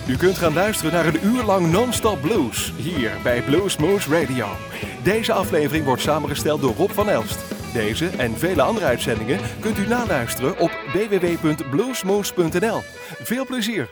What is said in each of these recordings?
U kunt gaan luisteren naar een uur lang non-stop blues, hier bij Bluesmoose Radio. Deze aflevering wordt samengesteld door Rob van Elst. Deze en vele andere uitzendingen kunt u naluisteren op www.bluesmoose.nl. Veel plezier!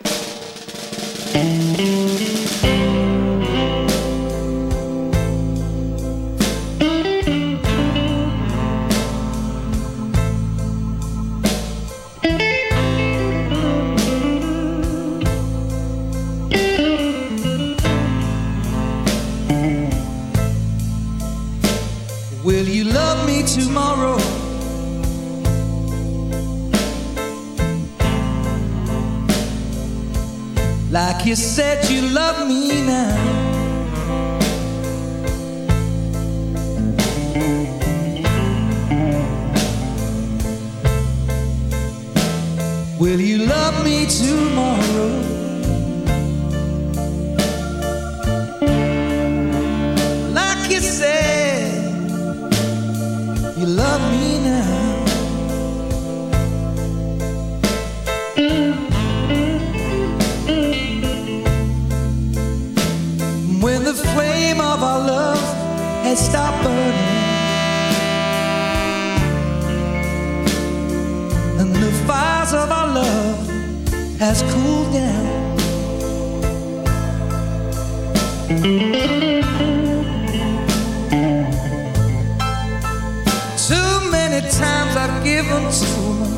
Will you love me tomorrow? Like you said you love me now. Will you love me tomorrow? Like you said you love me now. When the flame of our love has stopped burning and the fires of our love has cooled down, too many times I've given too much.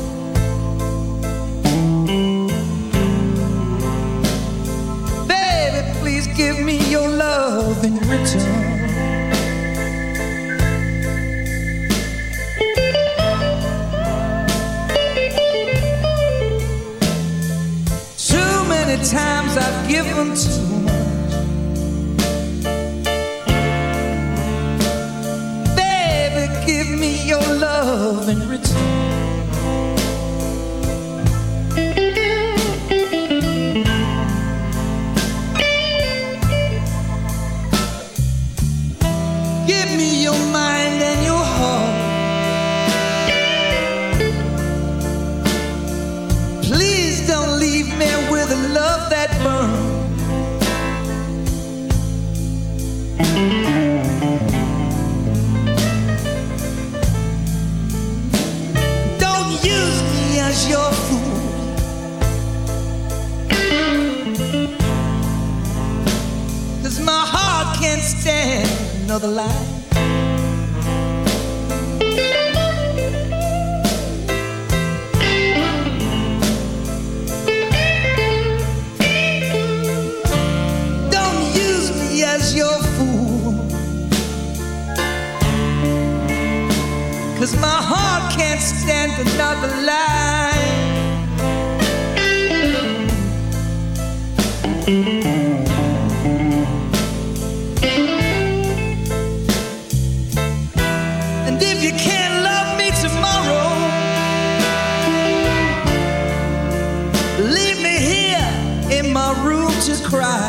Baby, please give me your love in return. Too many times I've given too much. Give me your love in return. Give me your mind and your heart. Please don't leave me with a love that burns. As your fool, 'cause my heart can't stand another lie. Don't use me as your fool, 'cause my heart can't stand another lie. And if you can't love me tomorrow, leave me here in my room to cry.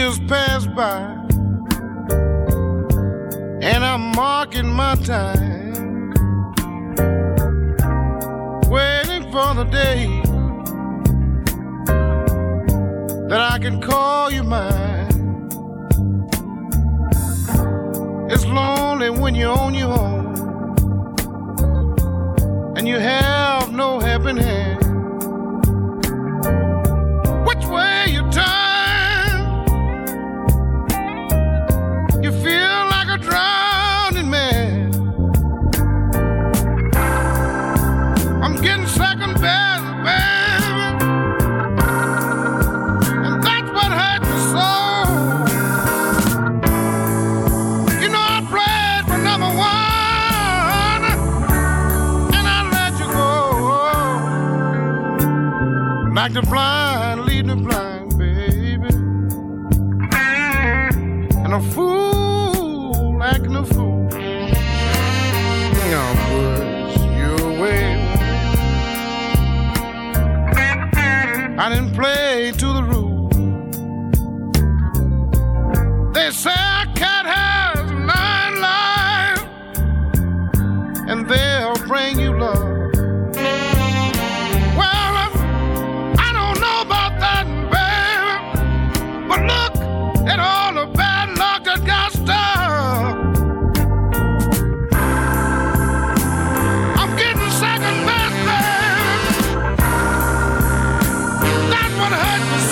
years pass by, and I'm marking my time, waiting for the day that I can call you mine. It's lonely when you're on your own and you have no helping hand. Which way you turn, you feel like a drowning man. I'm getting second best, baby, and that's what hurts me so. You know I played for number one, and I let you go. Like the blind lead the blind, baby, and a fool acting a fool. Now push you away. I didn't play to the rule. They say a cat has 9 lives, and they'll bring you love. Well, I don't know about that, baby, but look at all the bad luck that got stuck. I'm getting second best, baby. That's what hurt me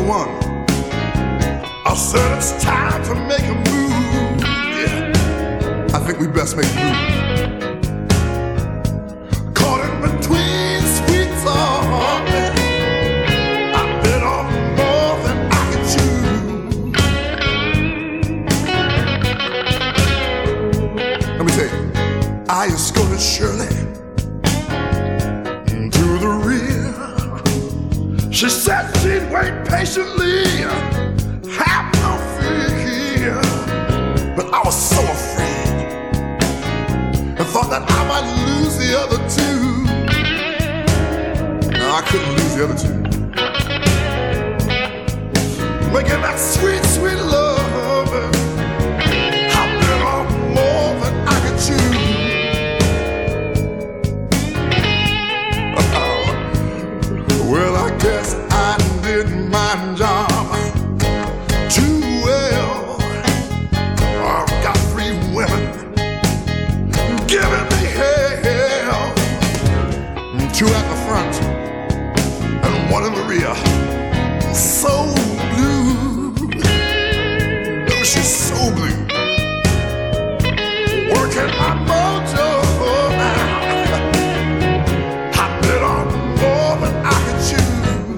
one. I said it's time to make a move. Yeah, I think we best make a move. Caught in between sweet talk. I bit off more than I could chew. Let me tell you, I escorted Shirley to the rear. She said she'd wait patiently, have no fear. But I was so afraid and thought that I might lose the other two. No, I couldn't lose the other two. Making that sweet, sweet love, I've been on more than I could chew. Well, I guess I did my job too well. I've got 3 women giving me hell, 2 at the front and 1 in the rear. So blue, oh, she's so blue. Working my mojo now. I bit on more than I could chew.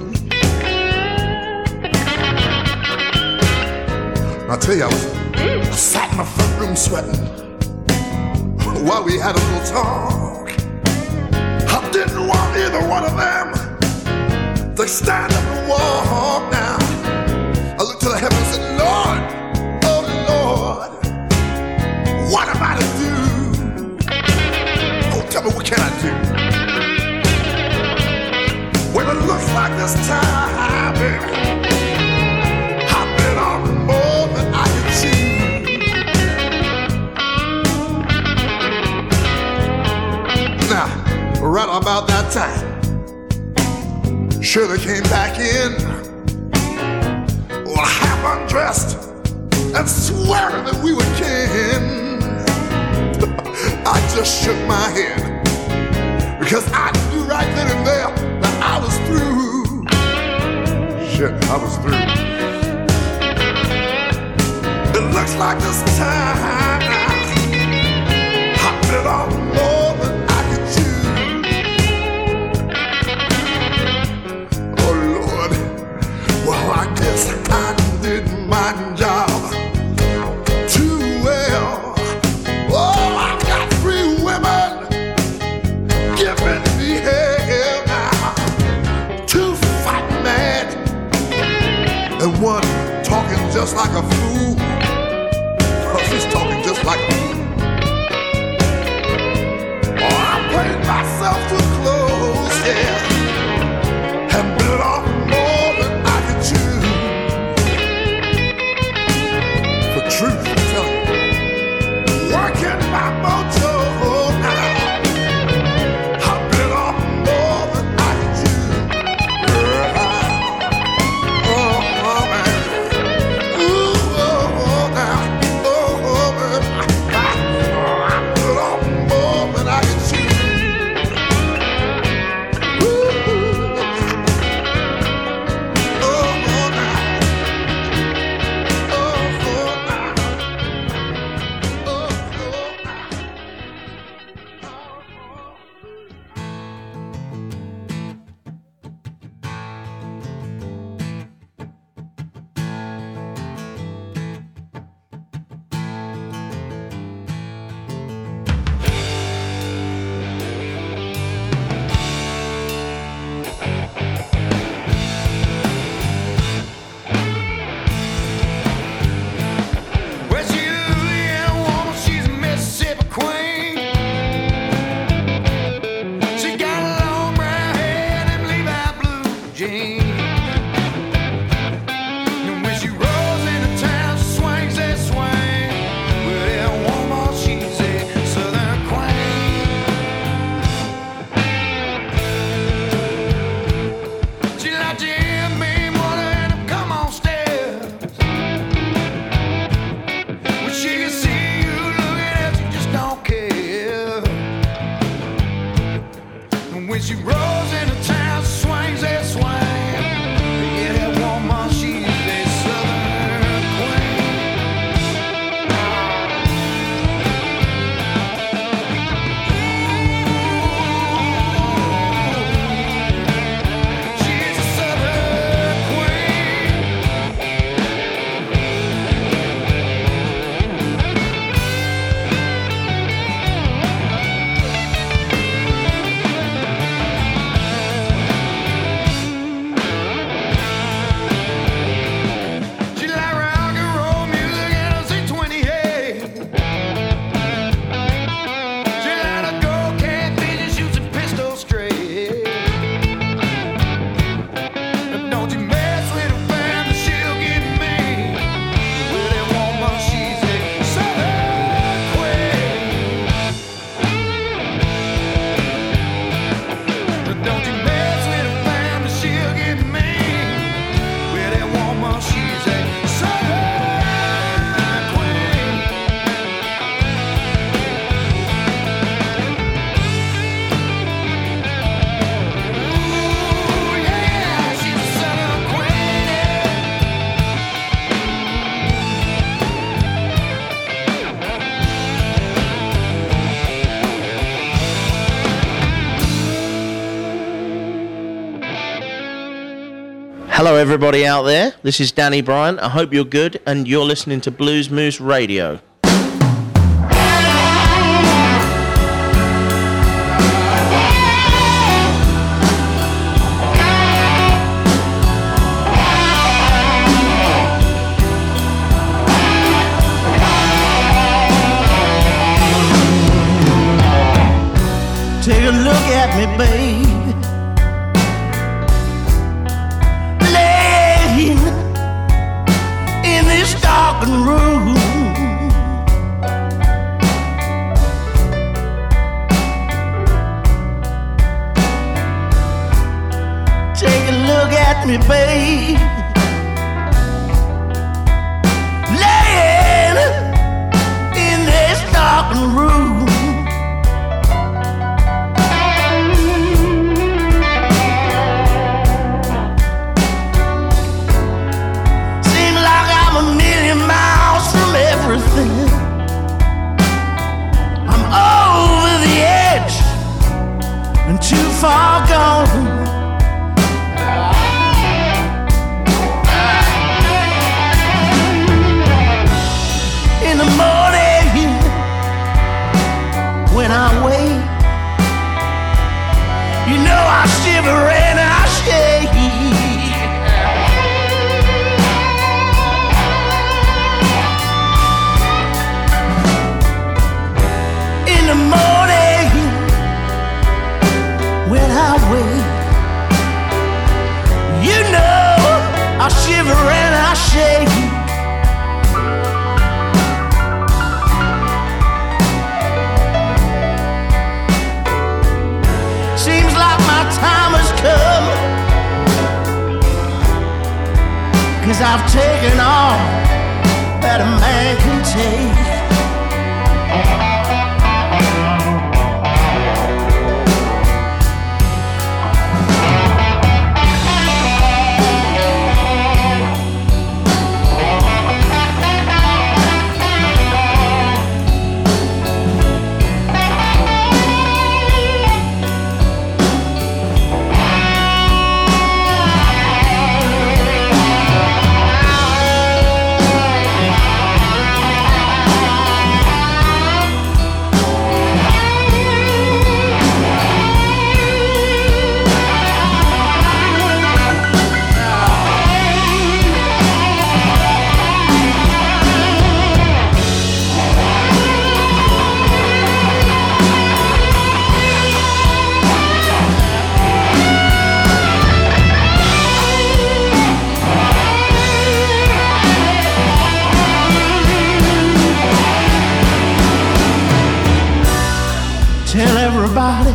I tell you, I sat in my front room sweating while we had a little talk. I didn't want either one of them to stand up and walk now. I looked to the heavens and said, Lord, oh Lord, what am I to do? Oh, tell me, what can I do? When it looks like this time, baby, I've been on more than I can chew. Now, right about that time, Shirley came back in, well, half undressed and swearing that we were kin. I just shook my head because I knew right then and there that I was through. Shit, I was through. It looks like this time I've been on more than I could chew. Oh Lord, well I guess I did my job too well. Oh, I've got 3 women giving me hell now, 2 fighting mad and 1 talking just like a fool. Oh, she's talking just like a fool. Oh, I played myself too close, yeah, and bit off more than I could chew. For truth, I'm telling you, working my mojo now, I bit off more than I could chew. Oh, man. Ooh, oh, now. Oh, man. I bit off more than I could chew. Ooh. Oh, now. Oh, now. Well, she a Louisiana woman, she's a Mississippi queen. She got a long brown hair and them Levi blue jeans. And when she rolls into town, she swings that swing. Well, that woman, she's a Southern queen. She like Jim Beam water and them come on stairs. When she can see you looking at you, just don't care. And when she rolls into town, she swings that swing. Yeah, that woman, she Hello everybody out there, this is Danny Bryan. I hope you're good and you're listening to Blues Moose Radio. Take a look at me, babe. Laying in this darkened room. Take a look at me, babe. Laying in this darkened room. Everything. I'm over the edge and too far gone. In the morning when I wake, you know I shiver and I shake. In the morning when I wake, you know I shiver and I shake. Seems like my time has come, 'cause I've taken all that a man can take. Tell everybody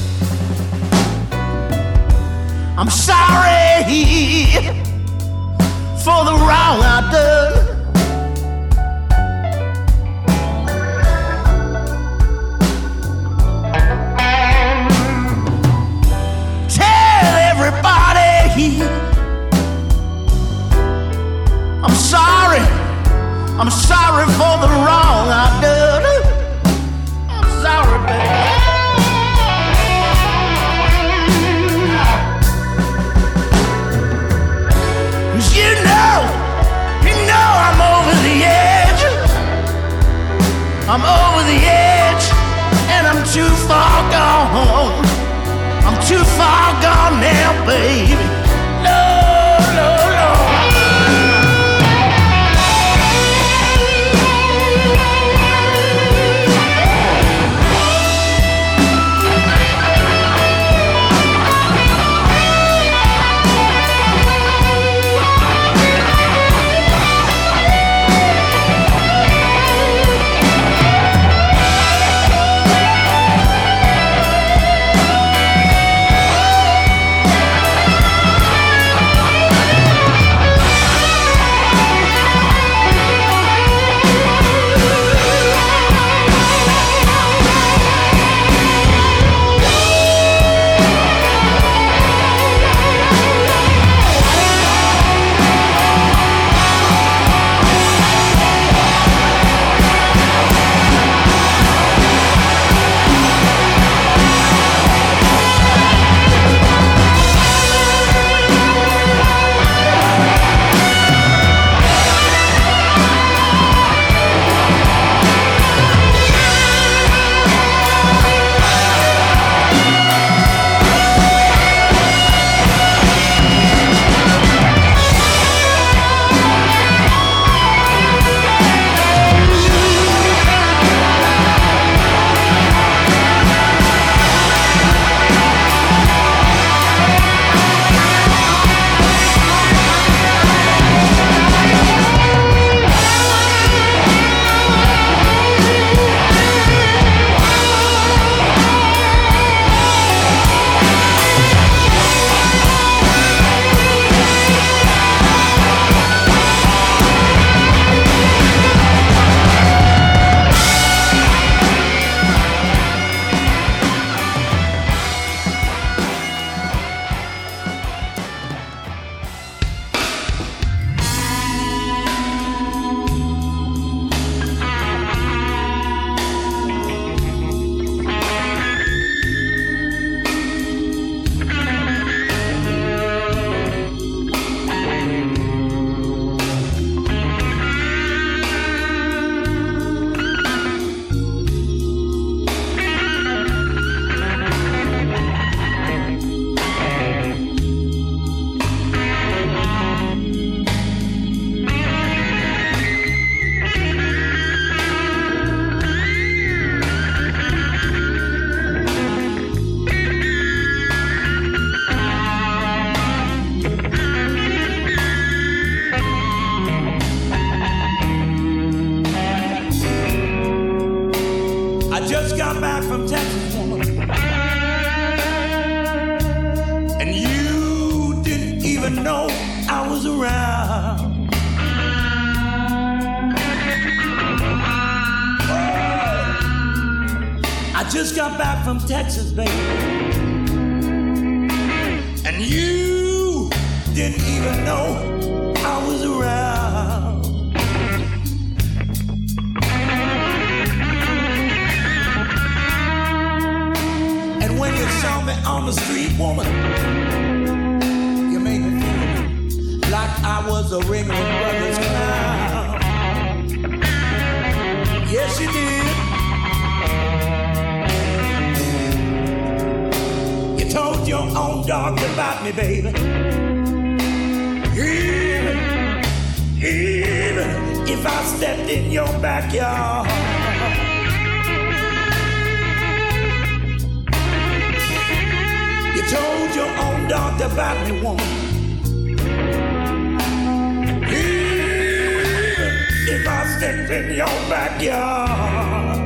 I'm sorry for the wrong I've done. Tell everybody I'm sorry for the wrong I've done. I'm sorry, baby. You know I'm over the edge. I'm over the edge, and I'm too far gone. I'm too far gone now, baby. No, no, no. just got back from Texas, baby, and you didn't even know I was around. And when you saw me on the street, woman, you made me feel like I was a Ringling Brothers clown. Yes, you did. Told your own dog about me, baby. Even if I stepped in your backyard. You told your own dog about me, woman. Even if I stepped in your backyard.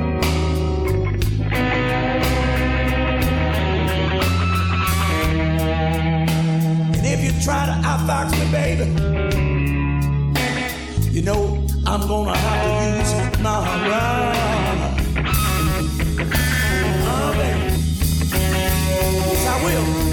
If you try to outfox me, baby, you know I'm gonna have to use my rod. Oh, baby, yes I will.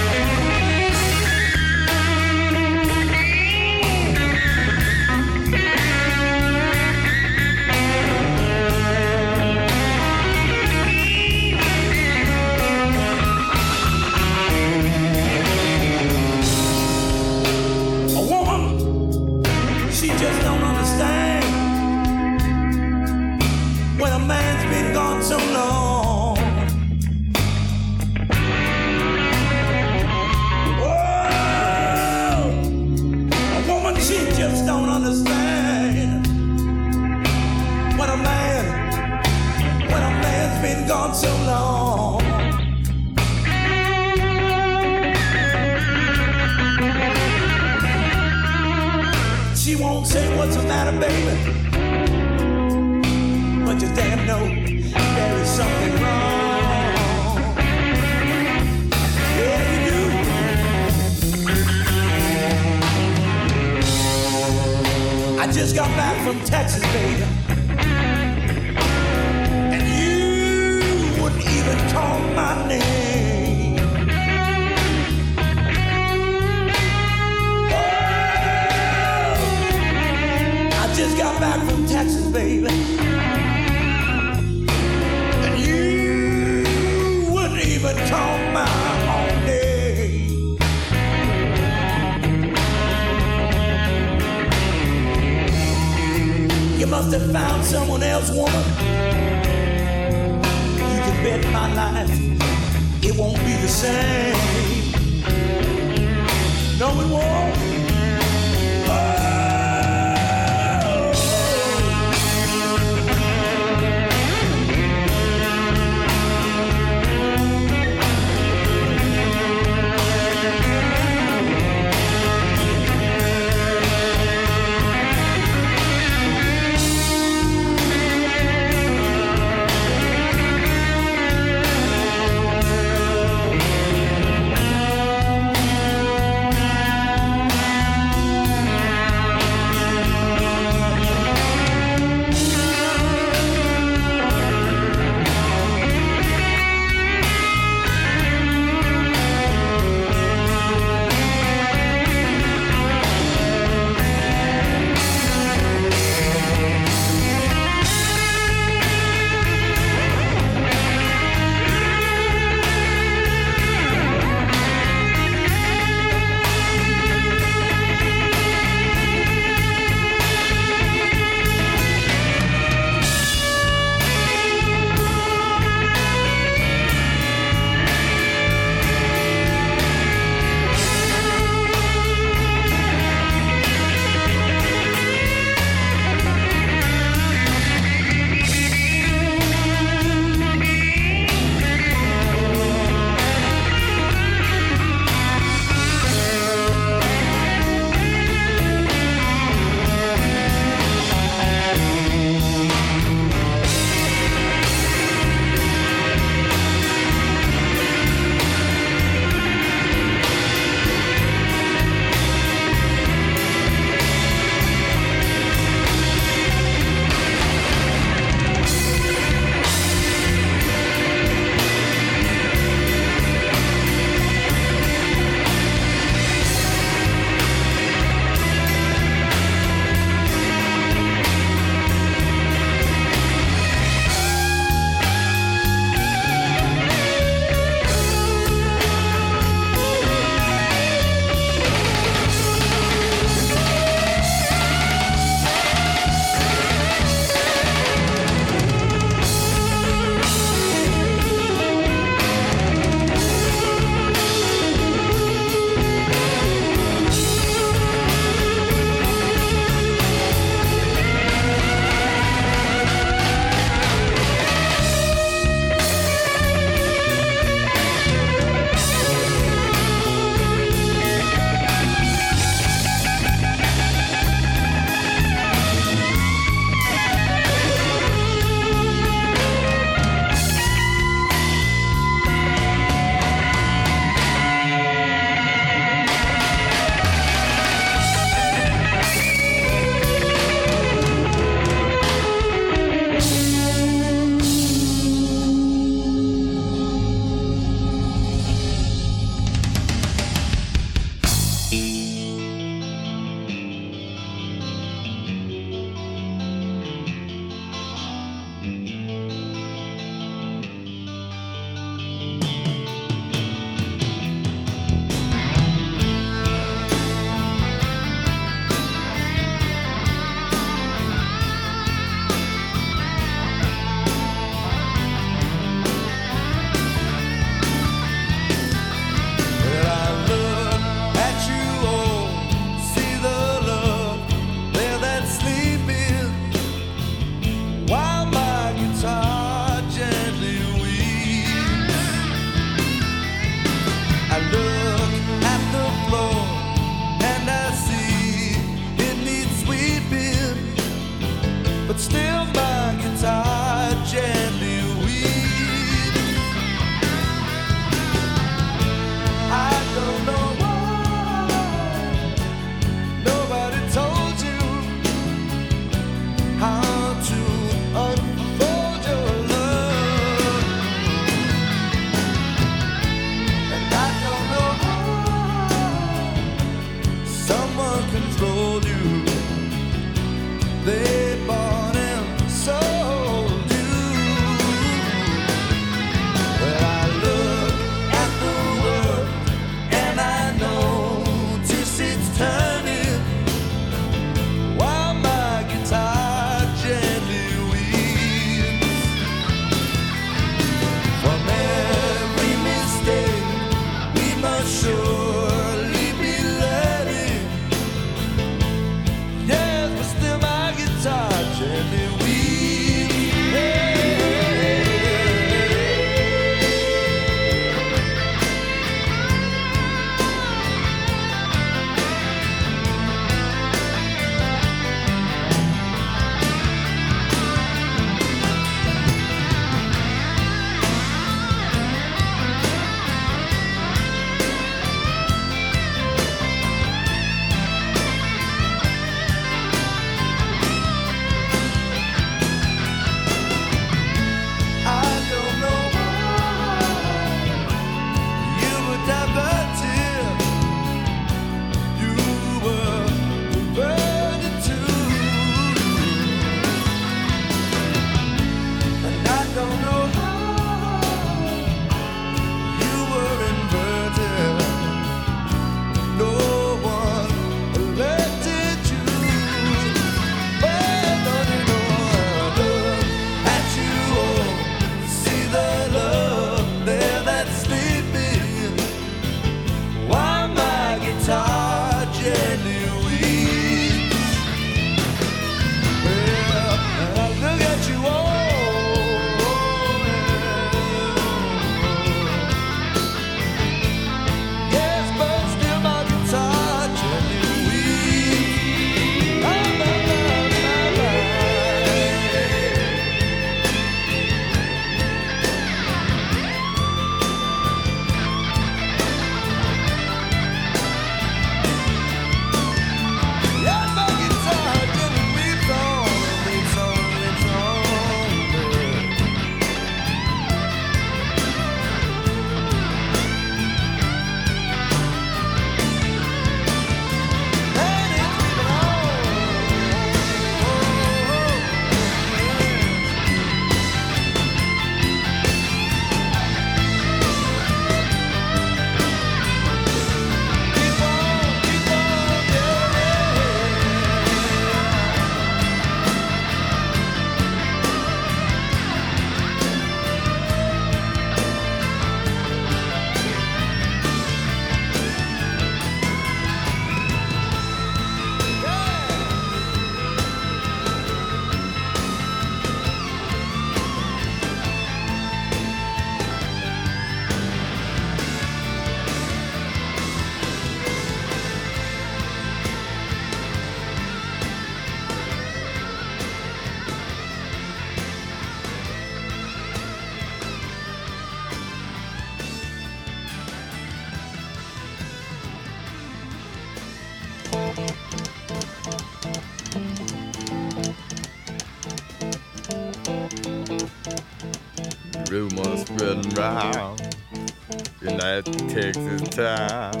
rumors spreading round in that Texas town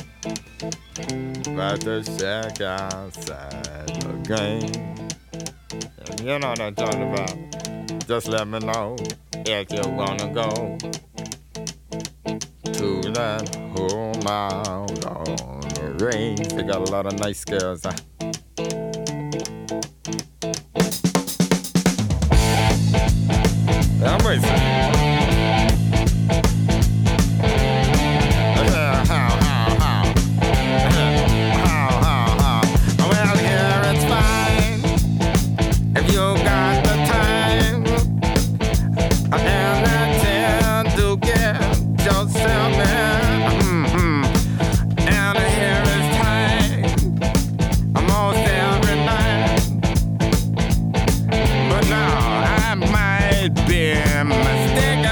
about the shack outside the game. And you know what I'm talking about. Just let me know if you wanna go to that home out on the range. They got a lot of nice girls. I'm racing. Well, here it's fine if you got the time and the chance to get yourself in. And here is time almost every night. But now I might be mistaken.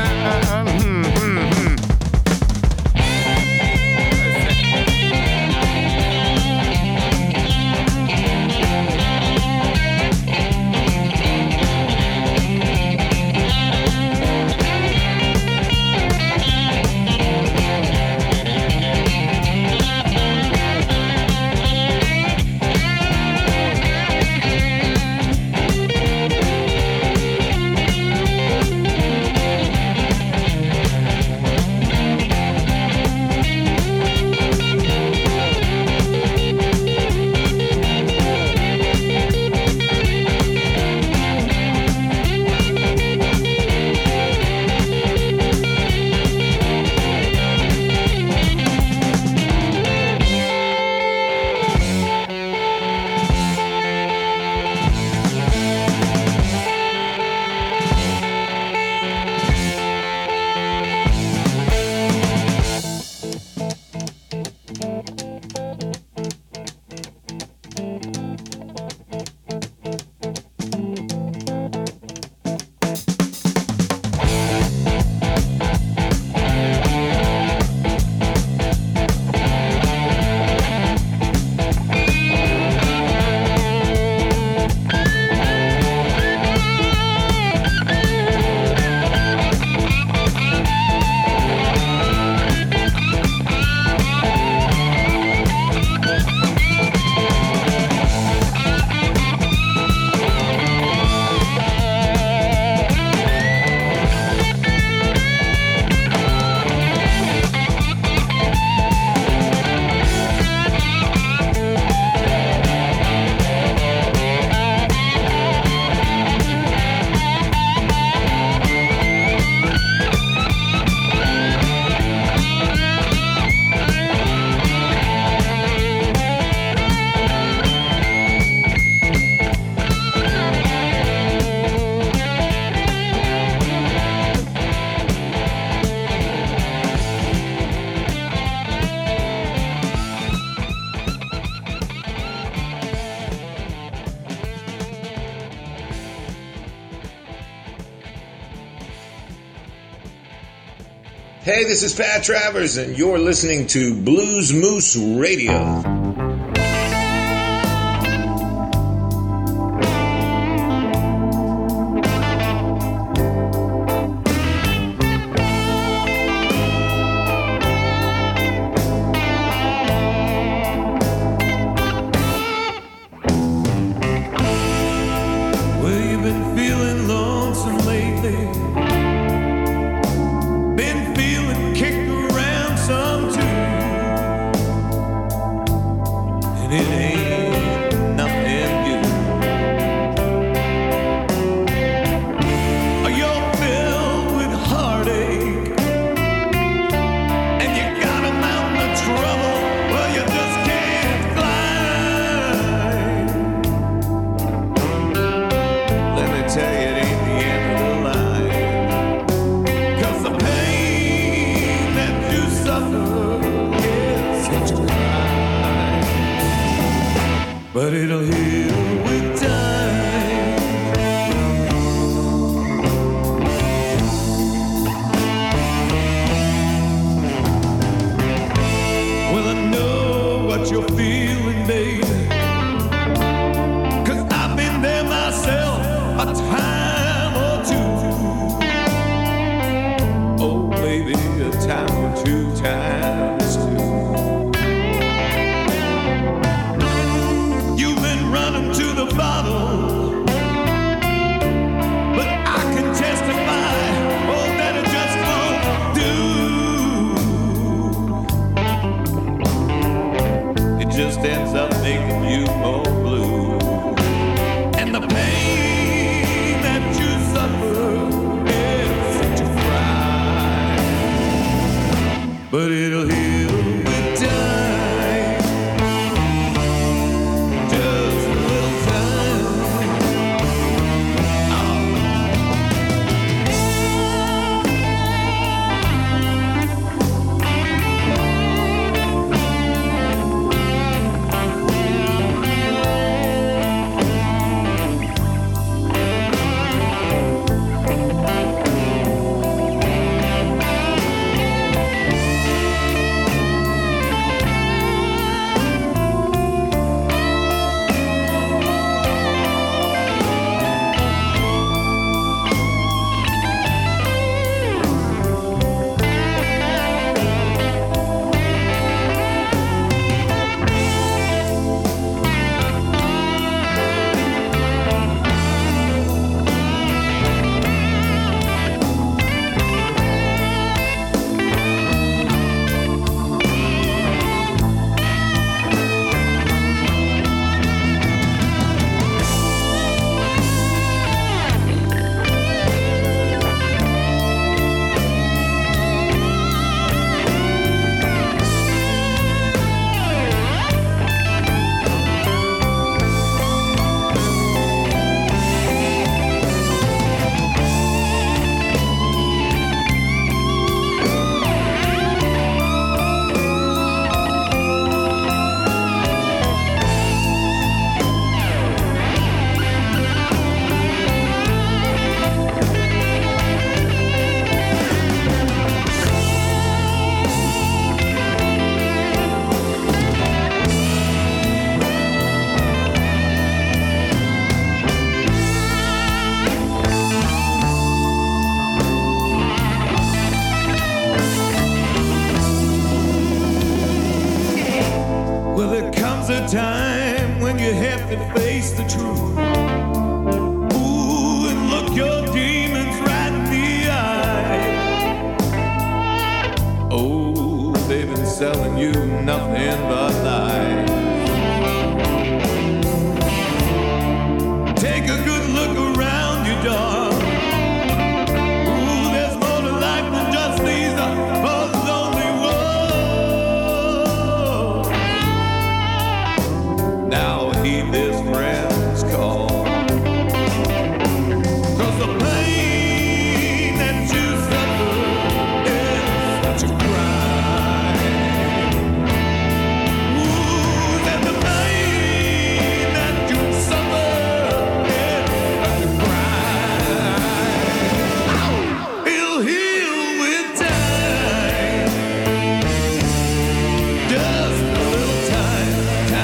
Hey, this is Pat Travers, and you're listening to Blues Moose Radio. But it'll heal with time. Well, I know what you're feeling, baby, 'cause I've been there myself a time or two. but it'll heal with time. Just a little time. Well, there comes a time when you have to face the truth. Ooh, and look your demons right in the eye. Oh, they've been selling you nothing but lies. Take a good look around you, darling. Ooh, there's more to life than just these lonely walls. Now heed this friend's call. 'Cause the pain that you suffer is such a crime. Ooh, that the pain that you suffer is such a crime. It'll heal with time. Just a little time.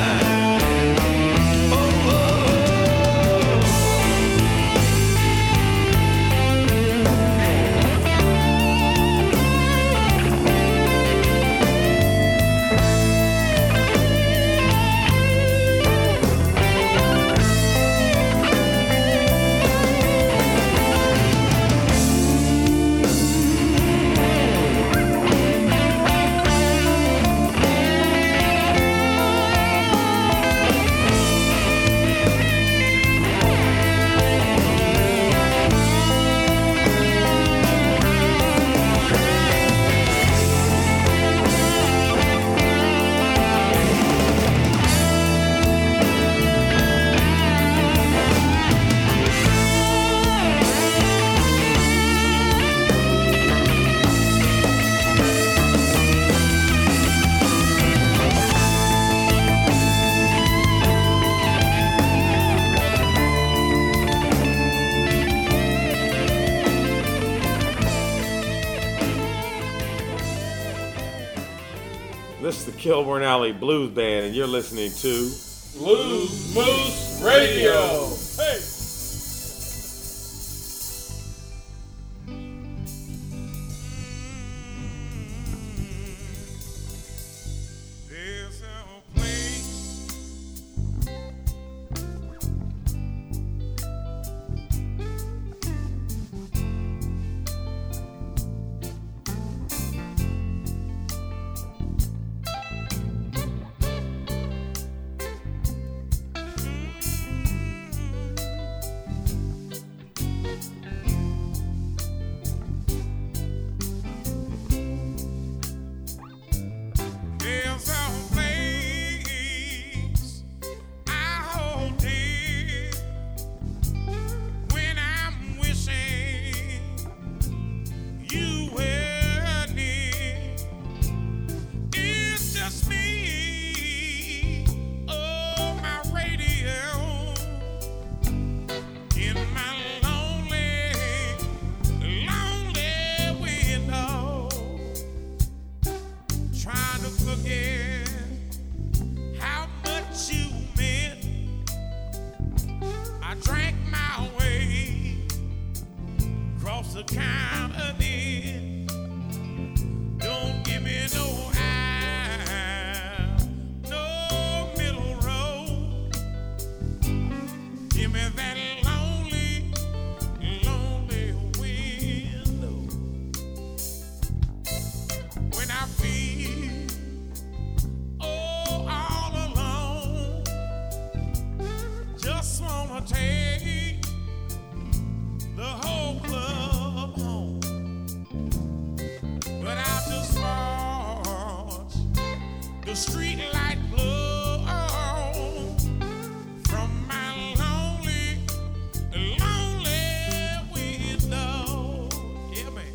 This is the Kilburn Alley Blues Band, and you're listening to Blues Moose Radio. Hey! There's a place wants to count it in. Don't give me no aisle, no middle road. Give me that lonely, lonely window. When I feel all alone, just wanna take the whole club home. But I'll just watch the street light glow from my lonely, lonely window. Yeah, man.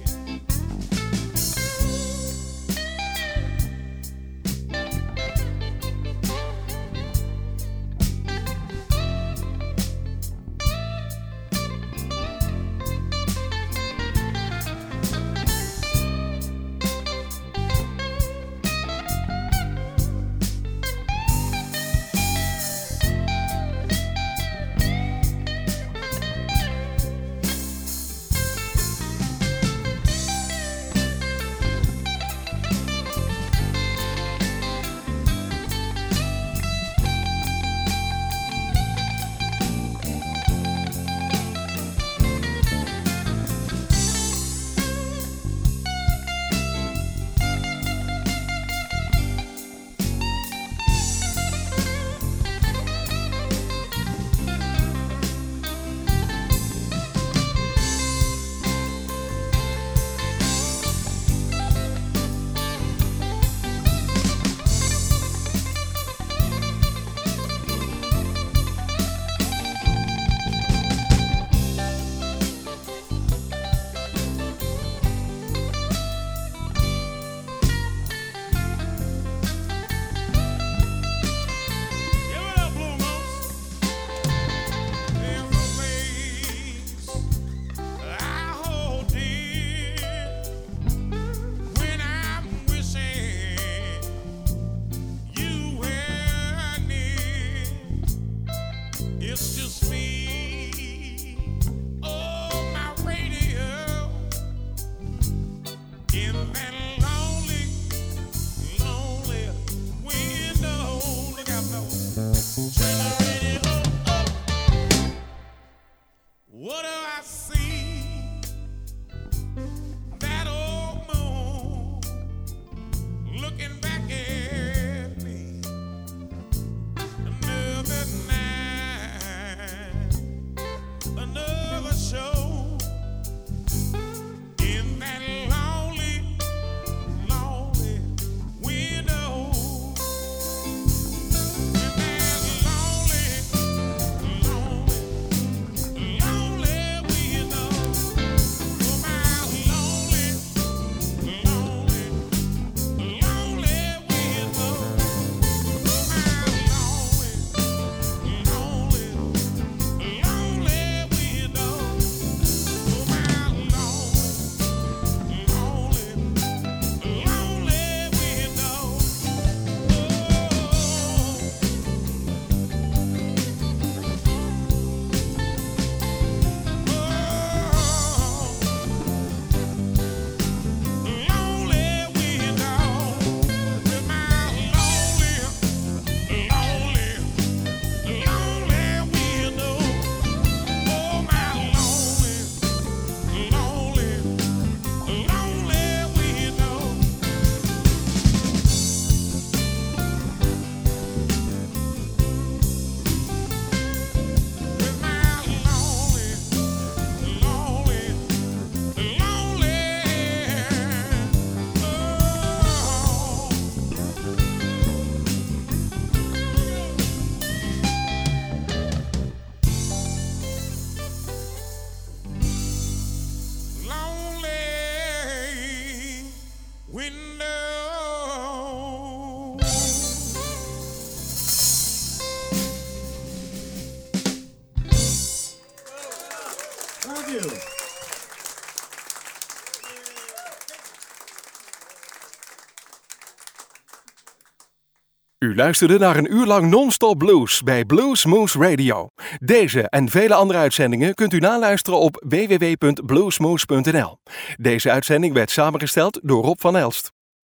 U luisterde naar een uur lang non-stop blues bij Blues Moose Radio. Deze en vele andere uitzendingen kunt u naluisteren op www.bluesmoose.nl. Deze uitzending werd samengesteld door Rob van Elst.